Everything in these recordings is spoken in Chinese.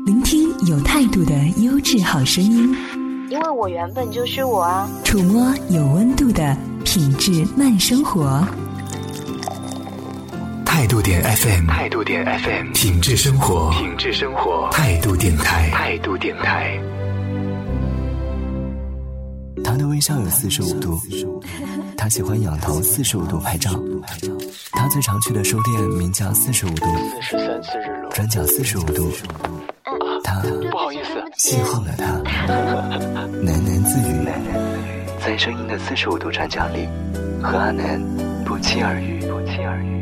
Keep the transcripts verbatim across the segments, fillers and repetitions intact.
聆听有态度的优质好声音， 因为我原本就是我啊。 触摸有温度的品质慢生活。 态度点 F M， 态度点 F M， 品质生活，品质生活，态度电台，态度电台。 他的微笑有四十五度，他喜欢仰头四十五度拍照。他最常去的书店名叫四十五度， 四十三次日落， 转角四十五度。他不好意思， 邂逅了他，喃喃自语，在声音的四十五度转角里，和阿南不期而遇，不期而遇。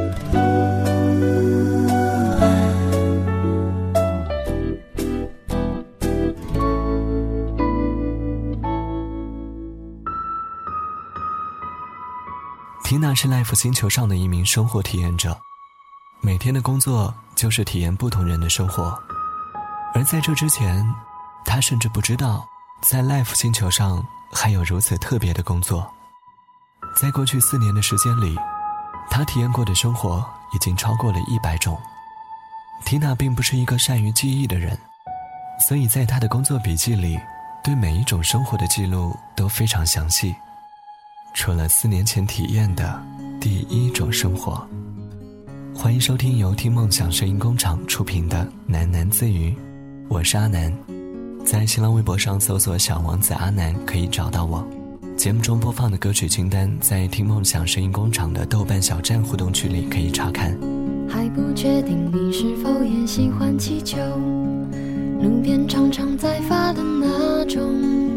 缇娜是 Life 星球上的一名生活体验者，每天的工作就是体验不同人的生活。而在这之前，她甚至不知道在 Life 星球上还有如此特别的工作。在过去四年的时间里，她体验过的生活已经超过了一百种。缇娜并不是一个善于记忆的人，所以在她的工作笔记里，对每一种生活的记录都非常详细。除了四年前体验的第一种生活。欢迎收听由听梦想声音工厂出品的喃喃自语，我是阿南，在新浪微博上搜索小王子阿南可以找到我。节目中播放的歌曲清单在听梦想声音工厂的豆瓣小站互动区里可以查看。 还不确定你是否也喜欢气球，路边常常在发的那种。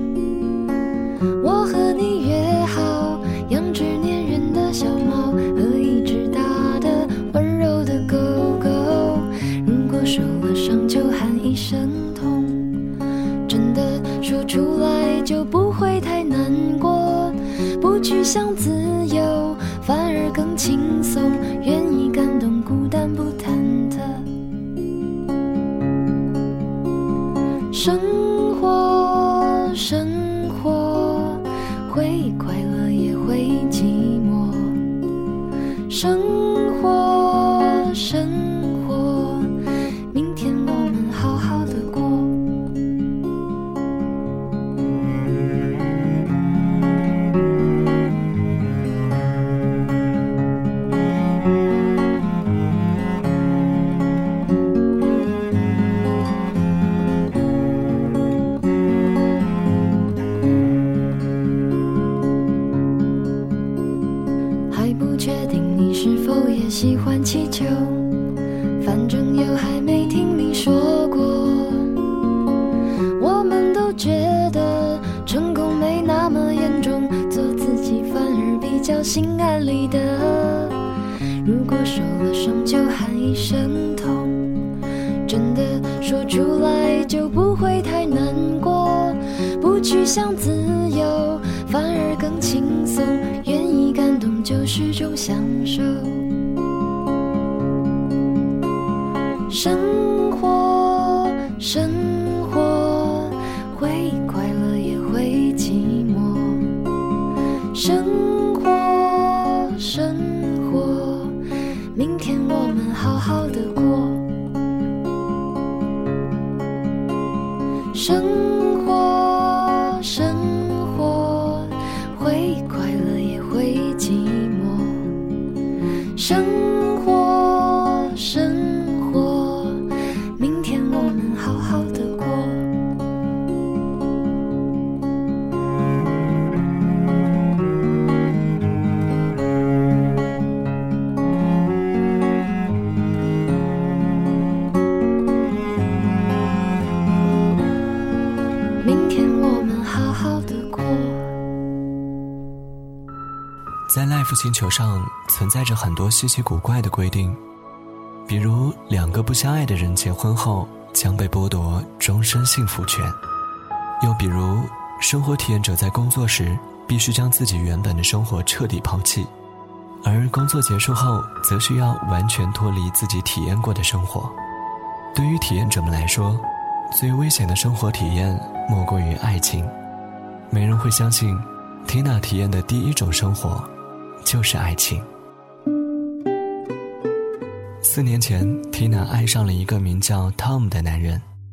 我和你约好养只粘人的小猫和一只大的温柔的狗狗，如果受了伤就喊一声痛，真的说出来就不会太难过，不去想自由反而更轻松，愿意感动孤单不忐忑。生活生活会快乐也会寂寞，生活生活明天我们好好的过。喜欢气球，反正又还没听你说过。我们都觉得成功没那么严重，做自己反而比较心安理得。如果受了伤就喊一声痛，真的说出来就不会太难过，不去想自由反而更轻松，愿意感动就是种享受。生活生活会快乐也会寂寞，生活生活明天我们好好的过。生活生活会快乐也会寂寞，生活生活明天我们好好的过。明天我们好好的过。 在 Life 星球上存在着很多稀奇古怪的规定，比如两个不相爱的人结婚后将被剥夺终身幸福权，又比如生活体验者在工作时必须将自己原本的生活彻底抛弃，而工作结束后则需要完全脱离自己体验过的生活。对于体验者们来说，最危险的生活体验莫过于爱情。没人会相信缇娜体验的第一种生活就是爱情。四年前，缇娜爱上了一个名叫 Tom 的男人，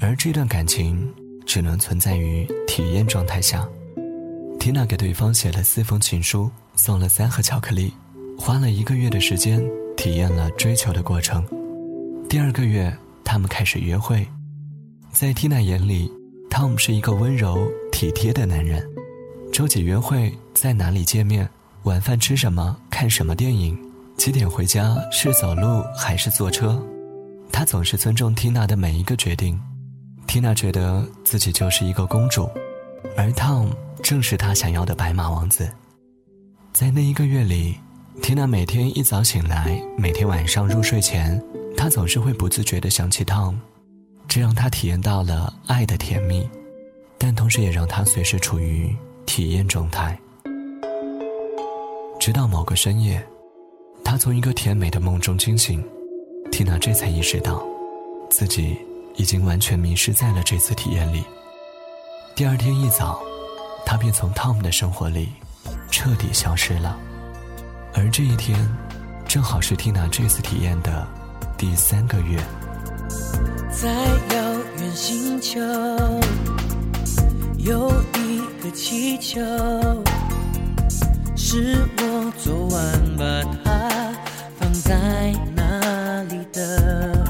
而这段感情只能存在于体验状态下。缇娜给对方写了四封情书，送了三盒巧克力，花了一个月的时间体验了追求的过程。第二个月，他们开始约会。在缇娜眼里， Tom 是一个温柔体贴的男人。周几约会，在哪里见面，晚饭吃什么，看什么电影，几点回家，是走路还是坐车，他总是尊重缇娜的每一个决定。缇娜觉得自己就是一个公主，而 Tom 正是她想要的白马王子。在那一个月里，缇娜每天一早醒来，每天晚上入睡前，她总是会不自觉地想起 Tom， 这让她体验到了爱的甜蜜，但同时也让她随时处于体验状态。直到某个深夜，她从一个甜美的梦中惊醒，缇娜这才意识到自己已经完全迷失在了这次体验里。第二天一早，她便从 Tom 的生活里彻底消失了。而这一天正好是缇娜这次体验的第三个月。 在遥远星球有一个气球，是我昨晚把它放在那里的。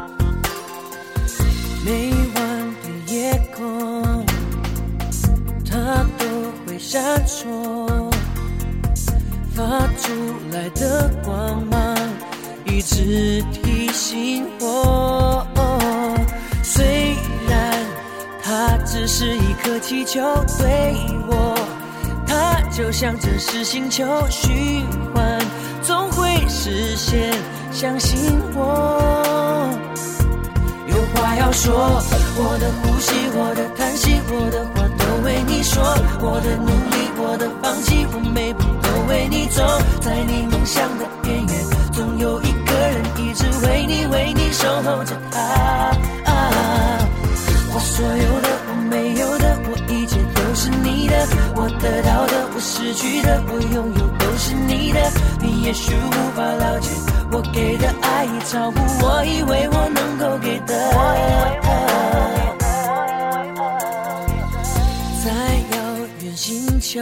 每晚的夜空它都会闪烁，发出来的光芒一直提醒我，虽然它只是一颗气球，对我它就像真实星球，虚幻总会实现，相信我。有话要说，我的呼吸，我的叹息，我的话都为你说，我的努力，我的放弃，我每步都为你走，在你梦想的边缘，总有一个人一直为你为你守候着他、啊、我所有的，我没有的，我一切都是你的，我得到的，我失去的，我拥有都是你的，你也许无法了解我给的爱已超乎我以为我能够给的。在遥远星球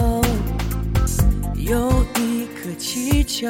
有一颗气球，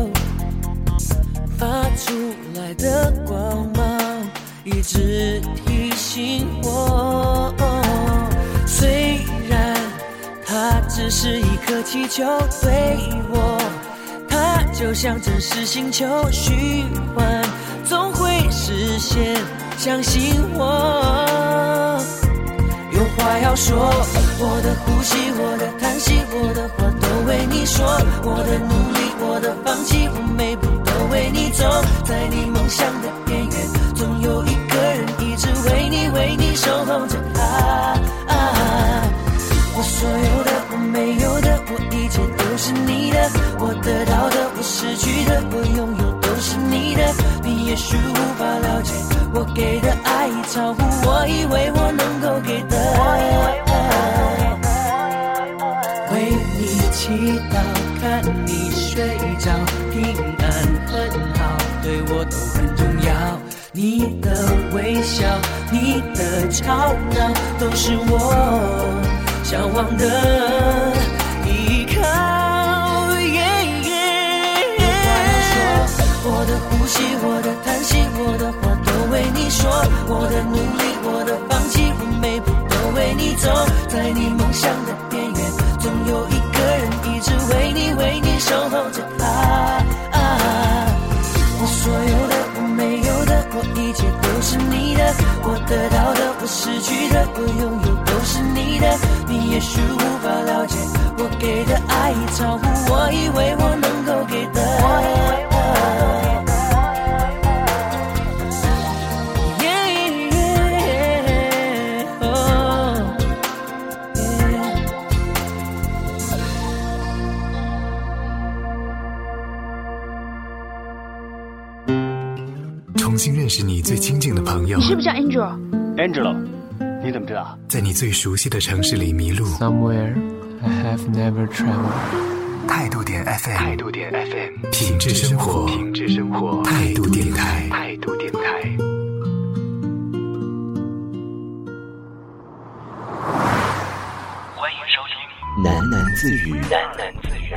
发出来的光芒一直提醒我，虽然它只是一颗气球，对我它就像真实星球，虚幻总会实现，相信我。有话要说，我的呼吸，我的叹息，我的话都为你说，我的努力，我的放弃，我每步都为你走，在你梦想的边缘，总有一个人一直为你为你守候着他、啊、我所有的，我没有的，我一切都是你的，我得到的，我失去的，我拥有都是你的，你也许无法了解我给的爱已超乎我以为我能够给的。为你祈祷，看你睡着平安很好，对我都很重要，你的微笑，你的吵闹，都是我向往的依靠。我的呼吸，我的叹息，我的话都为你说，我的努力，我的放弃，我每步都为你走，在你梦想的边缘，总有一个人一直为你为你守候着他、啊、我所有的，我没有的，我一切都是你的，我得到的，我失去的，我拥有都是你的，你也许无法了解我给的爱已超乎我以为我能够给的。 重新认识你最亲近的朋友。 你是不是叫 Angel？Angelo， 你怎么知道？ 在你最熟悉的城市里迷路。 Somewhere I have never traveled。 态度点 F M， 态度点 F M， 品质生活， 品质生活， 态度电台， 态度电台。 喃喃自语， 喃喃自语，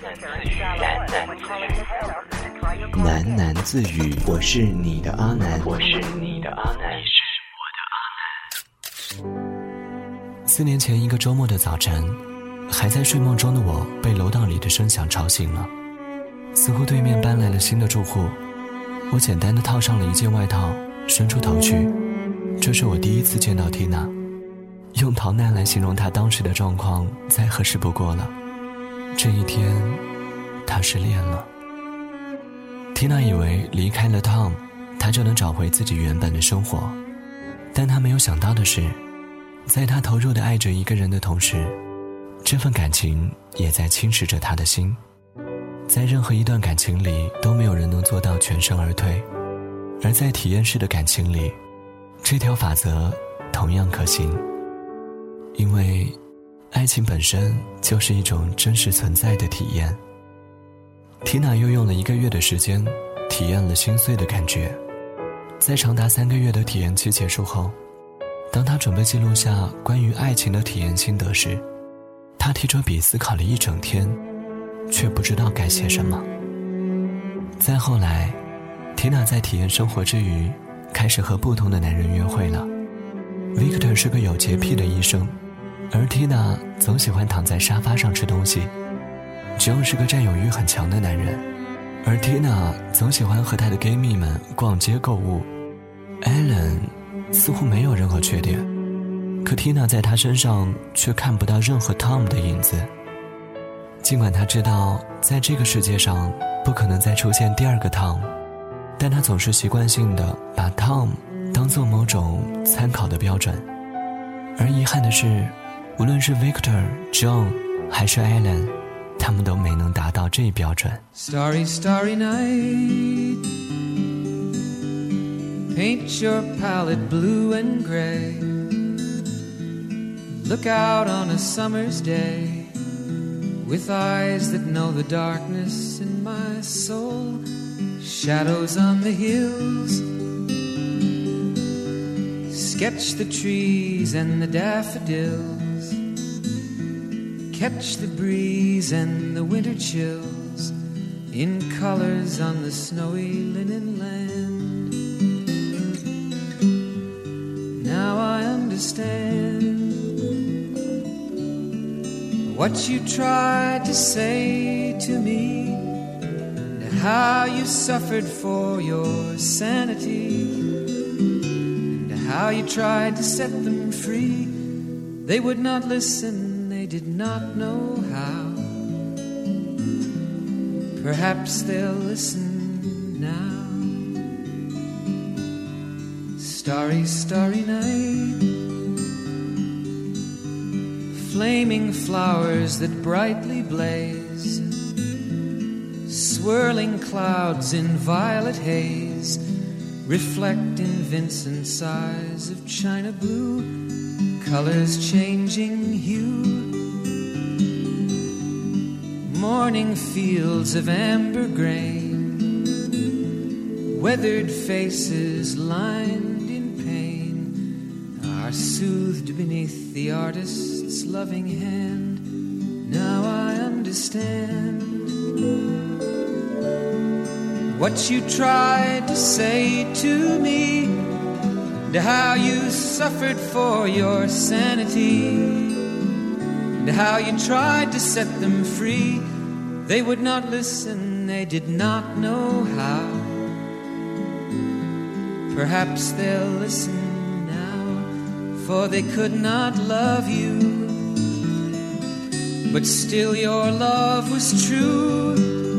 喃喃自语。我是你的阿南， 我是你的阿南，你是我的阿南。 四年前一个周末的早晨，还在睡梦中的我被楼道里的声响吵醒了。似乎对面搬来了新的住户，我简单的套上了一件外套，伸出头去。这是我第一次见到缇娜，用逃难来形容她当时的状况再合适不过了。这一天她失恋了。缇娜以为离开了 Tom， 她就能找回自己原本的生活，但她没有想到的是，在她投入的爱着一个人的同时，这份感情也在侵蚀着她的心。在任何一段感情里，都没有人能做到全身而退，而在体验式的感情里，这条法则同样可行。因为爱情本身就是一种真实存在的体验。缇娜又用了一个月的时间体验了心碎的感觉。在长达三个月的体验期结束后，当她准备记录下关于爱情的体验心得时，她提着笔思考了一整天，却不知道该写什么。再后来，缇娜在体验生活之余，开始和不同的男人约会了。Victor 是个有洁癖的医生，而缇娜总喜欢躺在沙发上吃东西。John 是个占有欲很强的男人，而缇娜总喜欢和她的 gay 蜜们逛街购物。Alan 似乎没有任何缺点，可缇娜在他身上却看不到任何 Tom 的影子。尽管她知道在这个世界上不可能再出现第二个 Tom， 但她总是习惯性地把 Tom 当作某种参考的标准。而遗憾的是，无论是 Victor、John 还是 Alan， 他们都没能达到这一标准。 Starry, starry night, paint your palette blue and gray, look out on a summer's day, with eyes that know the darkness in my soul, shadows on the hills, sketch the trees and the daffodils, catch the breeze and the winter chills, in colors on the snowy linen land. Now I understand what you tried to say to me, and how you suffered for your sanity, and how you tried to set them free. They would not listen, they did not know how. Perhaps they'll listen now. Starry, starry night, flaming flowers that brightly blaze, swirling clouds in violet haze, reflect in Vincent's eyes of china blue, colors changing hue, morning fields of amber grain, weathered faces lined in pain, are soothed beneath the artist's loving hand. Now I understand what you tried to say to me, and how you suffered for your sanity, and how you tried to set them free. They would not listen, they did not know how. Perhaps they'll listen now, for they could not love you, but still your love was true.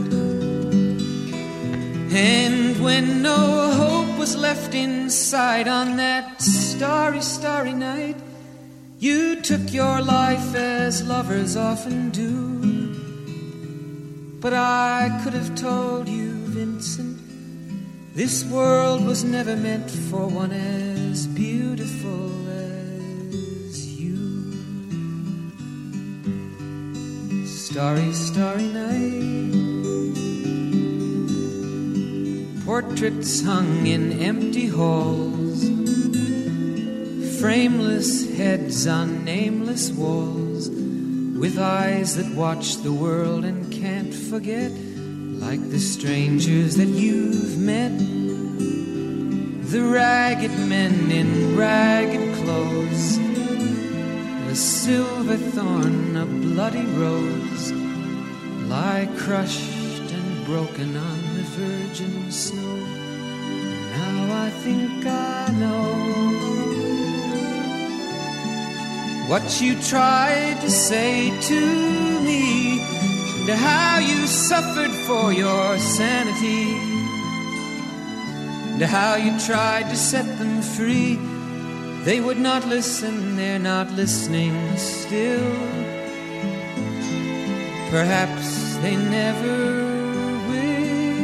And when no hope was left inside on that starry, starry night, you took your life as lovers often do. But I could have told you, Vincent, this world was never meant for one as beautiful as you. Starry, starry night, portraits hung in empty halls, frameless heads on nameless walls, with eyes that watch the world and can't forget, like the strangers that you've met, the ragged men in ragged clothes, a silver thorn, a bloody rose, lie crushed and broken on the virgin snow. Now I think I know what you tried to say to me, and how you suffered for your sanity, and how you tried to set them free. They would not listen, they're not listening still. Perhaps they never will.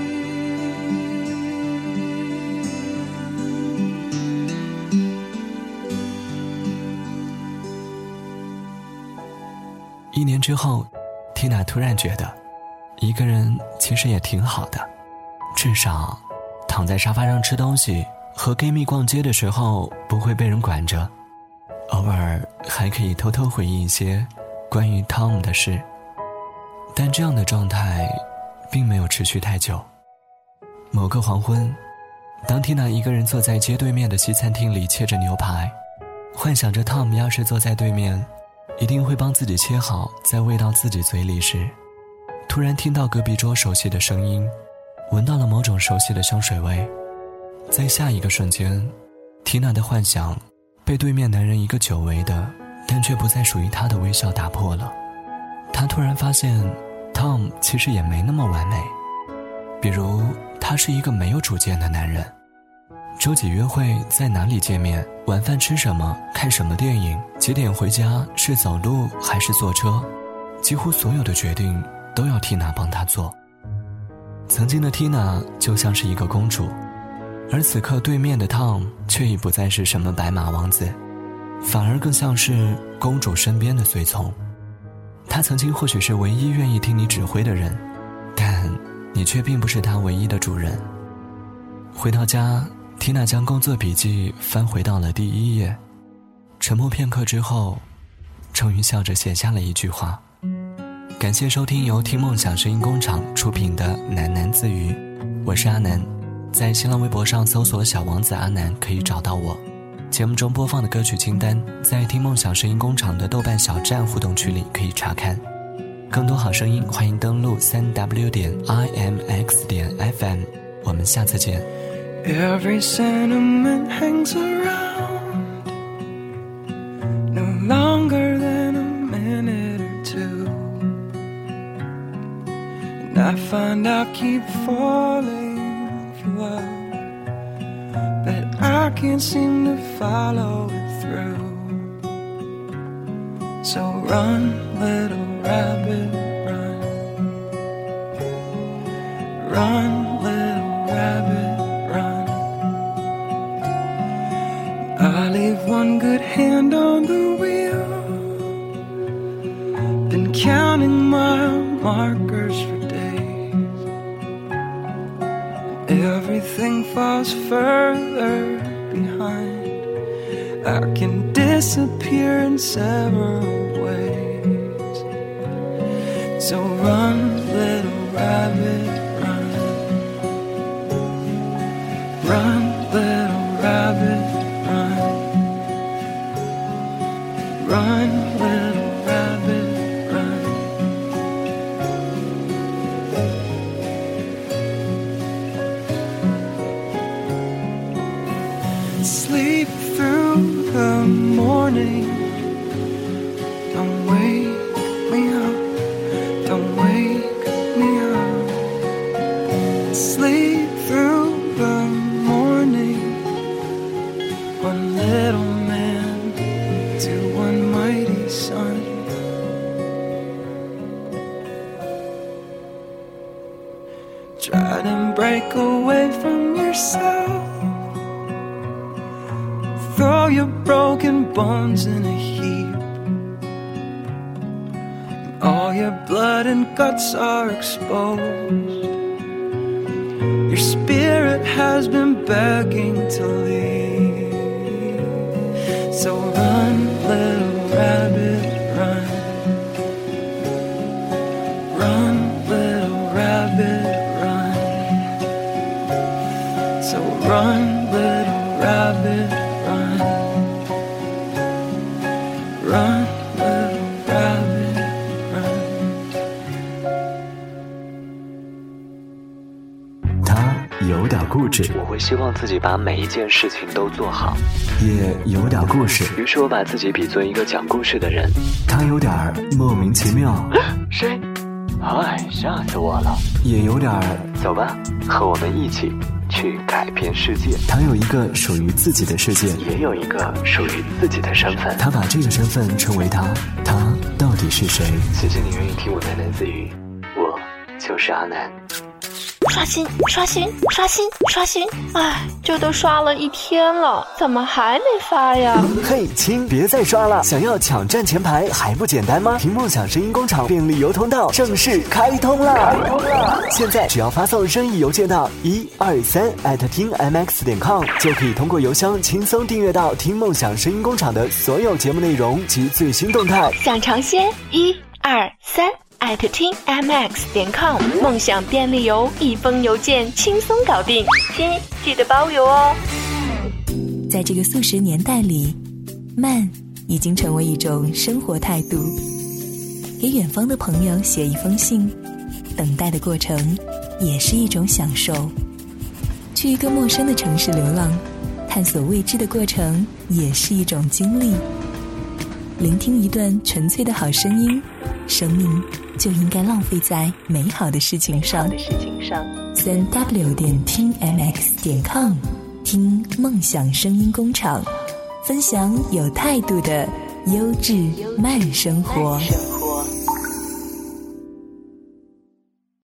一年之后，缇娜突然觉得一个人其实也挺好的，至少躺在沙发上吃东西和闺蜜逛街的时候不会被人管着，偶尔还可以偷偷回忆一些关于 Tom 的事。但这样的状态并没有持续太久。某个黄昏，当缇娜一个人坐在街对面的西餐厅里切着牛排，幻想着 Tom 要是坐在对面一定会帮自己切好再喂到自己嘴里时，突然听到隔壁桌熟悉的声音，闻到了某种熟悉的香水味。在下一个瞬间，缇娜的幻想被对面男人一个久违的但却不再属于她的微笑打破了。她突然发现 Tom 其实也没那么完美，比如他是一个没有主见的男人，周几约会，在哪里见面，晚饭吃什么，看什么电影，几点回家，是走路还是坐车，几乎所有的决定都要缇娜帮他做。曾经的缇娜就像是一个公主，而此刻对面的 Tom 却已不再是什么白马王子，反而更像是公主身边的随从。他曾经或许是唯一愿意听你指挥的人，但你却并不是他唯一的主人。回到家，缇娜将工作笔记翻回到了第一页，沉默片刻之后，终于笑着写下了一句话：感谢收听由听梦想声音工厂出品的喃喃自语，我是阿南，在新浪微博上搜索小王子阿南可以找到我。节目中播放的歌曲清单在听梦想声音工厂的豆瓣小站互动区里可以查看。更多好声音欢迎登录 三 w 点 i m x 点 f m， 我们下次见。 Every sentiment hangs around, no longer than a minute or two, and I find I keep falling for love, but I can't seem to follow it through. So run, little rabbit, run. Run, little rabbit, run. I leave one good hand on the wheel, been counting mile markers for days. Everything falls further behind. I can disappear in several ways. So run, little rabbit, run. Run, little rabbit, run. Run, little rabbit, run. Sleep through the morning. Don't wake me up, don't wake me up. Sleep through the morning. One little man to one mighty son. Try to break away from yourself. Throw your broken bones in a heap. All your blood and guts are exposed. Your spirit has been begging to leave. So run, little rabbit, run. rabbit, run. Run, little rabbit, run. 他有点固执， 我会希望自己把每一件事情都做好， 也有点故事。 于是我把自己比作一个讲故事的人。 他有点莫名其妙。 谁？哎，吓死我了。 也有点， 走吧，和我们一起去改变世界。 他有一个属于自己的世界， 也有一个属于自己的身份。 他把这个身份称为他，他到底是谁？ 谢谢你愿意听我喃喃自语，我就是阿南。 刷新刷新刷新刷新，哎，这都刷了一天了，怎么还没发呀？ 嘿，亲，别再刷了，想要抢占前排还不简单吗？听梦想声音工厂便利邮通道正式开通了，开通了！现在只要发送任意邮件到一二三 at 听 m x 点 com， 就可以通过邮箱轻松订阅到听梦想声音工厂的所有节目内容及最新动态。 想尝鲜一二三艾特听 m x 点 com， 梦想便利邮，一封邮件轻松搞定，亲，记得包邮哦。 在这个速食年代里，慢已经成为一种生活态度。给远方的朋友写一封信，等待的过程也是一种享受。去一个陌生的城市流浪，探索未知的过程也是一种经历。聆听一段纯粹的好声音，生命就应该浪费在美好的事情上。三 w 点听 m x 点 com， 听梦想声音工厂，分享有态度的优质慢生活。